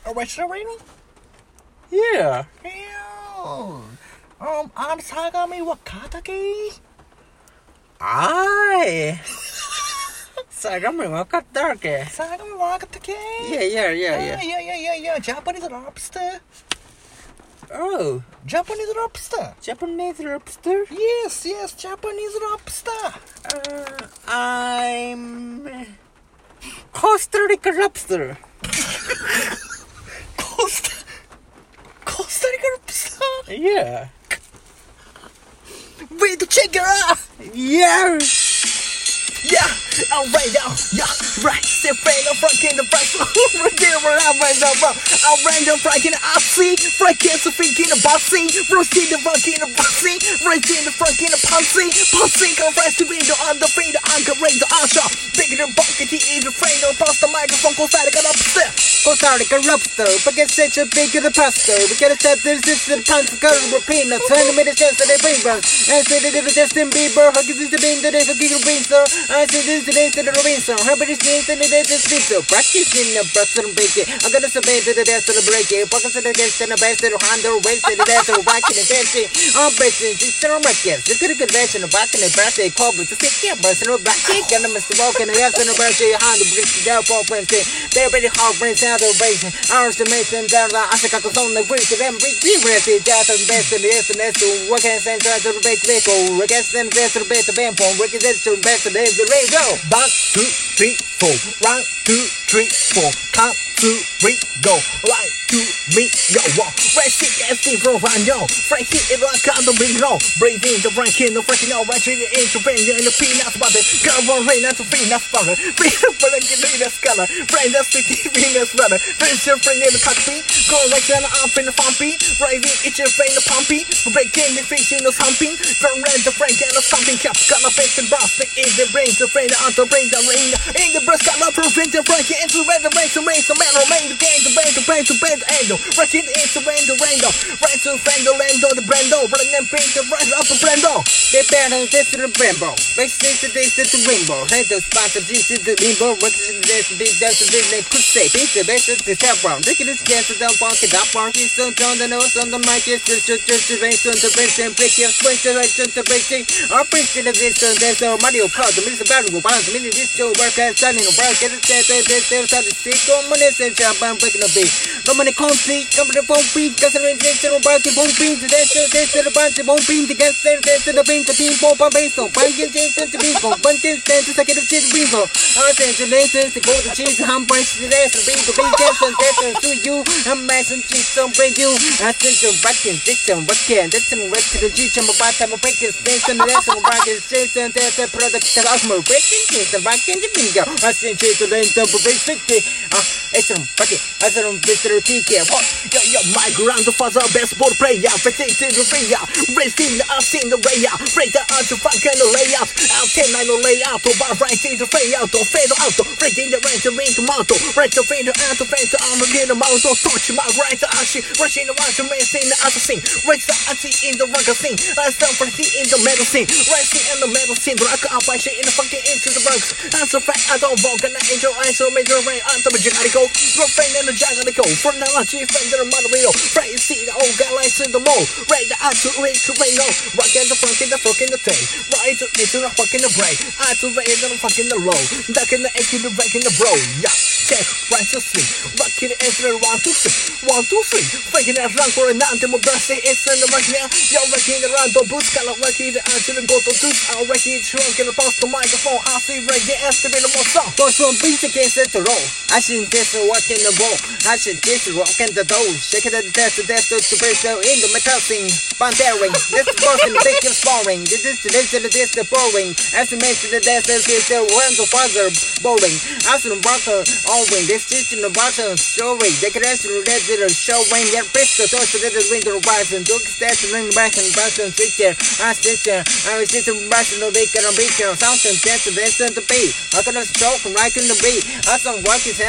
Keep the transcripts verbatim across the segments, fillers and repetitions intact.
restaurant? Yeah. Yeah. Um, I'm Sagami Wakataki. あーい。相模分かったわけ。 Sagami Wakataki. Yeah, yeah, yeah, Yeah, yeah. yeah, yeah, yeah, yeah. Japanese lobster. Oh, Japanese lobster. Japanese lobster? Yes, yes, Japanese lobster. Uh, I'm Costa Rica lobster. Costa, Costa Rica lobster. Yeah. Wait to check it out. Yeah. Yeah, alright now, yeah, right. Step right up, front in the front, right there, right now, right now, bro. I'll run the front in the I C, right in the front in the bossy, roast in the front in the bossy, right in the front in the pussy, pussy, come rest to window on the feet, I'm gonna raise the usher. Bigger than bucket, he is a friend, across the microphone, Costa Rica lobster. Costa Rica lobster, but get such a big of the pasta. We gotta set this is the time to color with peanuts. twenty minutes chance that they bring us. And say that it's Justin Bieber, hugging the bean, that they cooking a bean, sir. I say this today to the Robinson. How about this thing to the death of sleep? Practicing the breath and bacon. I'm gonna submit to the death of the breaking. Pockets of the guest and the best of the handle, waist to the death of whacking and dancing. I'm bitching, she's still on my kids. Look at the convention of back in the birthday club with the sick yeah, person of back kick. And I'm Mister Walking the ass in the birthday, hand the bridge down for Wednesday. They're pretty hard brains out of racing. Ours to make them down the Asaka on the bridge to them big be ready. Death and best of the S and S to work and send to the big vehicle. Against them, there's the best of them. Working this to best of the radio. One, two, three, four. One, two, three, four. Count, two, three, go. One, two, three, go. One. Fresh it, that's the roll, I know. Fresh it, it's like on the ring, no. Breathe in the rank in the fresh, no. Right in the intervention in the peanuts butter. Girl, one rain, that's a peanuts butter. Bring the butter, get in the scholar. Friend, that's the peanuts butter. Friends, your friend in the cockpit. Go right down the arm in the pumpy. Right in, it's your friend, the pumpy. Break in the fish in the humping. Don't rent the friend, and the something cap. Got a face and brass, in the brains, the friend, on the brain, the ring. In the breast, got a prevent the break. Into red, the race, the race, the man, the man, the gang, the band, the band, the band, the handle. Right in, it's the rain, the rainbow. Right to friend, the lando, the brando. Bring them paint, the right up the brando. They better this to the rainbow. Race this to this to the rainbow. Head the spot of this to the rainbow. Work to this to this to this they could say. Beat the best of the tap round. Look at this dance of the funk. The funk is so on the nose on the mic. It's just just just the race on the race and break your swing to right to the racing. Our prince in the this and there's a Mario Kart. The Mister Battle Bounce. The minute this show work and standing on work. Get it there there there there there the stick on money and jump and breaking the beat. Roman complete. Come to the phone beat. Considering this to the barking phone beat. The dance to this to the bunch of phone beat. The gas there there to the beat. The team pop and bass. So breaking things to be go. Bunches stand to second of cheese bingo. I say to laces to go to cheese. I'm breaking the dance. The beat the beat dance and dance to you. I'm messing cheese don't bring you. I think the rockin' this and rockin'. That's the rest of the G. I'm about to break this thing. And the rest of the rockin' shit. And there's a product that I'm breaking things. The rockin' the bingo. I think cheese to lane double break fifty. Ah, it's a bucket. I said I'm Mister T K. What? Yo, yo, my grandfather, best ball player. Fitting to the ring. Raised in the us in the way out. Raise the arch of funk and the layout. Out ten nine the layout. Bar right in the fade out. Fade out. Right in the range of ring to mount. Right to fade out. Fade to arm again. The mount. Touch my right to ashi. Rush in the one to race in the other scene. Raise the ashi in the rocker scene. Last down for the in the metal scene. Raise in the metal scene. Rock up by shit in the fucking into the bugs. That's a fact. I don't walk. And I angel eyes. So major rain. I'm the Jagarico. Rock friend and the Jagarico. For now, I chief friend and the Mario. Right, see the old guy lights in the mall. Right, the eye to ring to rain. No, rock in the front in the fucking the tail. Right to into the fucking the brain. Eye to rain and the fucking the low. Duck in the egg in the break in the bro. Yeah, check, right to sleep. Rock in the answer one, two, three. One, two, three. Faking that run for a nine. The birthday is in the right now. You're wrecking the round. Don't boost. Got a wrecking the eye to the go to do. I'll wreck it. Shrunk in the post the microphone. I see right there. Estimate the more song. Go from beats against the roll. I should this walk in the wall. I should this rock in the door. Shake it at the death, the death to the break in the metal scene. Bandering. This is boss in the big sparring. This is the this is the this the boring. As the mention the death is the one the father boring. As the barker always this is in the bottom showing. They can actually let it show when they're pistol to the window rise and look stats and ring back and button sit there. I sit there. I was sitting back in the big and big sound and dance the best of the beat. I got a stroke right in the beat. I some work his hands and I'm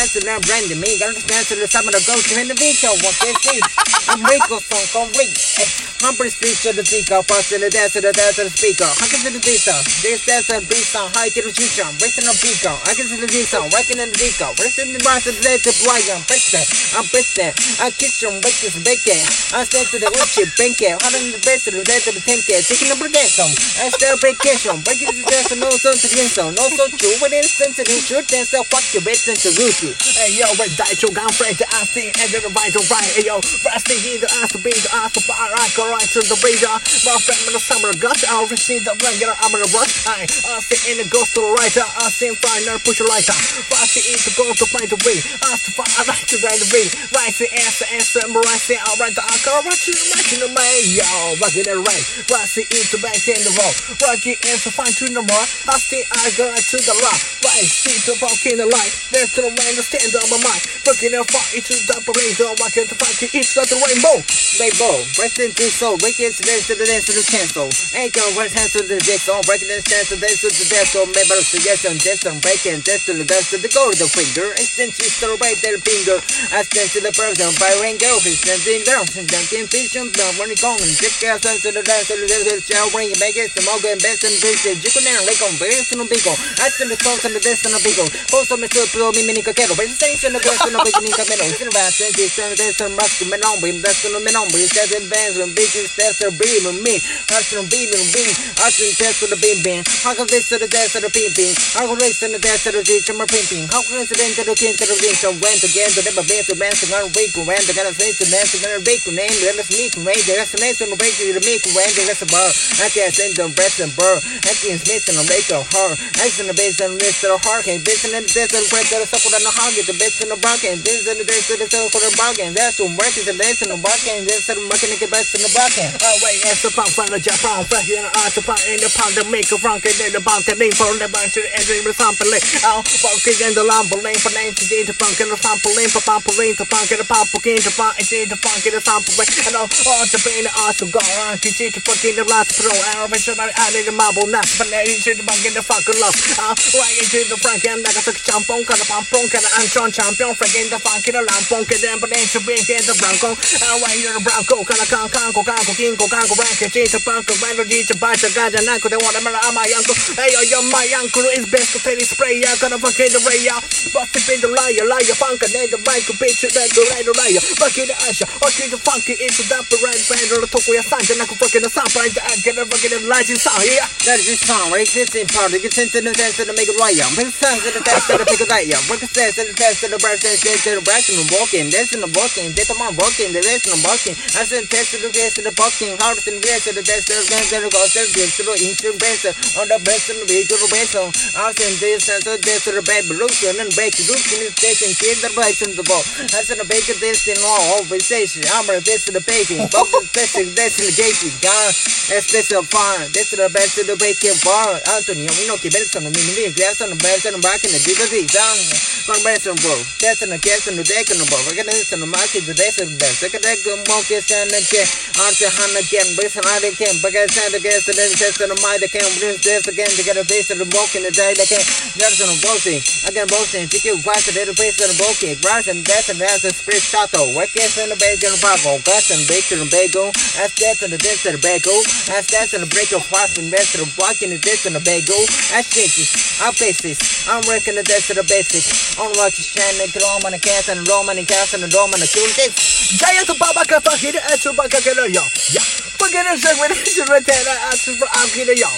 random me, gotta dance to the summer to go to in the vehicle, what they see. I'm Rico, song, come read. Humper speech to the speaker, pass to the dance to the dance to the speaker. I can see the beat song, this dance and beat song, high to the future, racing on beacon. I can see the beat song, racing in the beacon, racing in the rise of the day to fly, I'm president, I'm president. I kiss them, break this bacon. I stand to the windshield, bank it, hot in the bed to the day to the ten K, taking the brigade. I still vacation, breaking the dance and no son to the insult, no so true, but it's sensitive, shoot dance, so fuck your bitch and to root you. Hey yo, red die choke, I'm afraid to ask the end of the right to right. Hey yo, resting in the ass to be the ass to fire, I go right to the radar. My friend in the summer gush, I'll receive the regular, I'm gonna rush. I sit in the ghost to the right, I see fire, push a lighter. Fast to eat the go to find the way, ask to fire, right to the way. Right to answer, answer, right to I'll write the alcohol, right to the right to the way. Yo, rock it and right, right to eat the back in the roll. Rock it and to find to the more. I see I go right to the rock. Right, see the fuck in the light. There's the rain, the stand on my mind. Fucking and fight into the operator. Rocking the fucking each of the rainbow. Rainbow, breaking the soul, breaking the dance to the dance to the cancel. Ain't gonna run hands to the dance on, breaking the dance to the dance to the dance on. Maybe the suggestion, dance on breaking, dance to the dance to the go to the finger. Extend to the right their finger. I stand to the person by rain girl, he's standing down, and dunking vision, when you gone, check out to the dance to the dance to the shower, bring it back, it's the mug and best and vision. You can now lake on base and a beagle. I send the songs and the dance and a beagle. Post on my super mini kettle, but it's station the dance and a beginning of middle. It's in about twenty, seven days and musk men on beam, that's on the men on beam, that's in bands and bitches, that's a beam and me. Hustle and beam and beam, hustle and test to the beam beam. How can this to the dance to the beam beam? How can this to the dance to the beach and my pimping? How can this to the king to the ring? So went again to never been to dance and break when the gonna say to dance and gonna break name, let us meet rain, the rest of the nation will break you to make rain, the rest of bar. I can't send them breast and burr. I can't smith and make a heart. I send the base and list of the heart. Can't bitch and the death and break the sucker and the hog. Get the bitch and the bark and this and the days to the cell for the bargain. That's what work is the dance and the bark and this and the market and the best in the bargain. Oh wait, it's the pump from the Japan, fresh in the art to put in the pound to make a frank and then the bound to lean for the bunch of the entry with sample. Oh, walking in the lumber lane for name to do the funk and the sample lane for pump lane to funk and the pump again to funk and the funk and the sample way. And all to be in the art to go around to see the fucking the last pro. I don't know I need the marble nuts, but I need the bunk in the fucking love. Oh, right into the frank and I got the champon, got a pump punk and I'm John champion, frank in the funk in the lamp punk and then but then to bring in the bronco. Oh, right into the bronco, kind of can can go can go king go can go rank and see the punk and random to buy the guys and uncle. They want to marry my uncle. Hey, yo, my uncle is best to take spray. I got a fucking the ray out. But if in the liar, liar, funk and then the mic bitch, then the right liar. Fuck in the usher, fuck in the funky into the right band or the talk with a son, and I can fucking the sound right there. Get a fucking lighting sound here. That is this song, right? This in part, you get sent to the dance to make it right. Bring songs to the dance to make it right. Break the dance to the dance to the birth dance to the brass and walking, dancing and walking, get them on walking, the dance and walking. I send test to the dance to the walking, hard and dance to the dance to the dance to the go to the to the instrument on the best and the way to the best song. I send this and the dance to the baby lotion and break the lotion is dancing, kill the rice in the ball. I send a bacon dance in all over station. I'm a dance to the baby, both the best dance in the gate, gone, especially far. This is the best of the bacon bar. Antonio, we know Quebec on the mini glass on the best and back in the dignity down. One best and bro, that's in the gas and the deck and the ball. We're gonna listen to market the best of the best. Second deck, the monkey stand and chair. Arthur Hannah again, Briss and I can, but I stand against the test of the mind that can bring this again to get a base of the walk in the day that can. There's no boasting. Again, boasting. Take you fast to the base of the bulky. Brass and death and that's a split shuttle. Work gas and the bacon and bagel. Gas and bacon and bagel. As death and the death of the bagel. As death and the break of fast and rest of the block in the death and the bagel. As shakes. I'm basis. I'm working the death of the basics. On rocky shannon, Roman and cast and Roman and cast and the Roman and cool this. Giant Baba Kafahid and Chubaka Yo. Yeah. Forget it, when it's a return. I'm here, yo.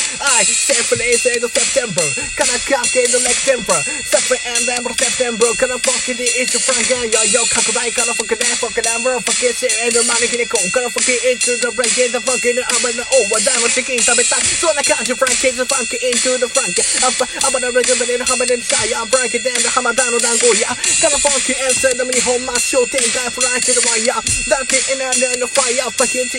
I said for the eighth of September. Can I come in the next temper? September and then September. Can I fuck it? It's a Frank. Yo, yo, Kakurai. Can I fuck it? Fuck it. I'm fuck it. And the money can go. Can I fuck it into the break? The fucking I'm in the over. Down with chicken. So I can't you Frank. It's a Frank into the Frank. I'm gonna regular in the Hamad and Shy. I'm Frank. Then the Hamadano Dango. Yeah. Can I fuck it? And send me home. My show. Take guy for I to the wire. That's it. And I'm in the fire. Fuck it into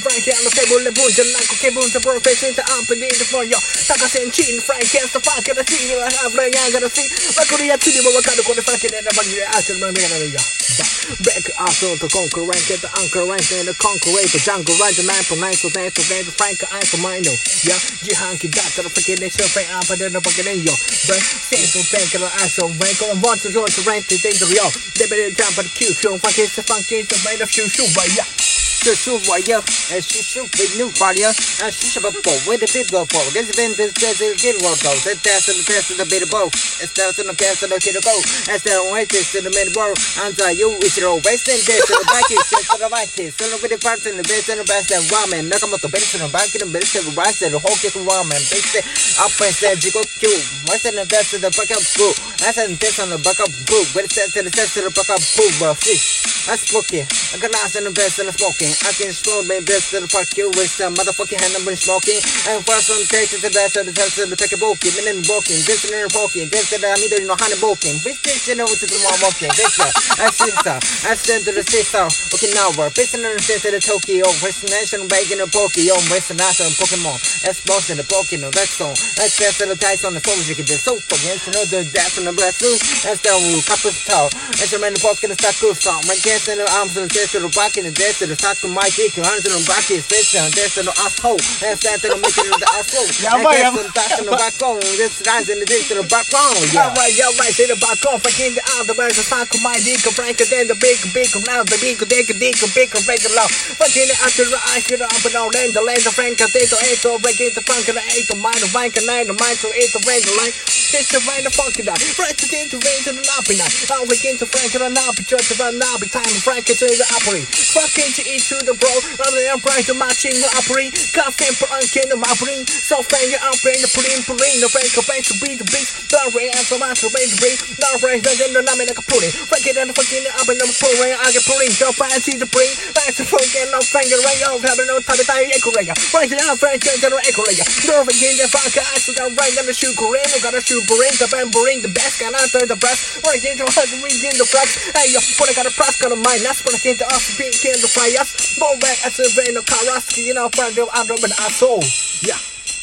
フランキーのテーブルでブンじゃなく気分とプロフェッションとアンプディートフォンよ高センチンフランキーストファーからチームはハーフレイヤーからシーわかるやつにもわかるこれファンキーでなバギでアーチの目がなるよブレイクアウトとコンクレンケットアンクレンケットコンクレートジャングルライトナイトナイトナイトナイトフランクアイトマイノいや自販機だったらファキでショーフェイアンパでのバキでよブレイセントベンからアイソンベンコンワンツージョージレンティデイドリオレベルジャンパーキューキューファキスファンキーとメイドフューシューバイヤ这是我要，哎，是是为你发亮，哎，是什么宝贝的别个宝，这是边的这是给我走，这这是这是的别的宝，哎，这是的这是的给的宝，哎，这我这是的没的宝，按照有一些路，为什么这是的白起，这是的白起，是的为的发展的别是的白是我们那个么多别是的白起的别是的白是的好给我们别是，up and say 这个 Q， 为什么这是的 back up book， 哎，这是的 back up book， 为什么这是这是的 back up book， I smoking， I got nothing the best in smoking。I can explode my best to the fuck you with some motherfucking hand I'm smoking. And for some takes to the best of the test of the take a walking, and then walking, this and then walking, this and I need to know how to walking. This is you know to the one walking, this I see so. I stand to the sister, okay now we're pissing on the state of the Tokyo, destination bacon and pokey on Western National Pokemon. That's boss in the Pokemon, that song. That's best of the dice on the phone, you can do so fucking to know the death from the blast loose. That's the cup of towel. That's the man the pocket and stuck good song. My guess in the arms of the chest of the back in the death of the sock of my dick, hands in the back is face down, death of the asshole. That's that in the making of the asshole. Yeah, right. That's the back in the backbone. This lines in the dick to the backbone. Yeah, right, yeah, right. Say the back off, I can't get out the way. The sock of my dick, Frank, then the big, big, now the big, big, big, big, big, low. Fucking it after the ice, get up and down, then the land of Frank, I think the eight, so break it, the funk, and the eight, the mind, the bank, and nine, the mind, so eight, the rain, the line. It's the rain, the funky night. Right to the into rain to the lobby night. I'll begin to Frank, and I'll be just about now, be time, Frank, it's in the opera. Fucking to eat to the bro, rather than Frank, the matching the opera. Constant for unkin, the opera. So fang it up in the pudding, pudding, the Frank, the bank to be the beast. The rain, and the master, rain, the rain. The rain, then the name like a pudding. Frank it and the fucking up in the pudding, I get pudding. So fancy the brain, that's the fucking no finger, rain, oh, having no time to die, echo. Frank it out, Frank, and the echo. No begin the funk, I still got right on the shoe, Korean, got a shoe, brain, the band, brain, the best, got out the breast. Frank into her, reading the flex. Hey, yo, what I got a press, got a mind, that's when I came to us, being king to fly us. Go back as a vein of Karaski, you know, friend of Andrew and asshole. Yeah.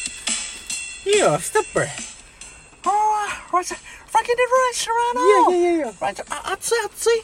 Yeah, stepper. Oh, right, Frankie did right, Serrano. Yeah, yeah, yeah, yeah. Right, I'd say, I'd say.